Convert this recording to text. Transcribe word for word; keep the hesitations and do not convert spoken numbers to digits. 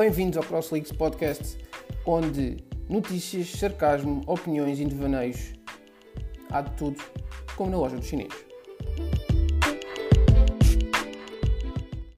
Bem-vindos ao CrossLeaks Podcast, onde notícias, sarcasmo, opiniões e devaneios, há de tudo, como na loja dos chineses.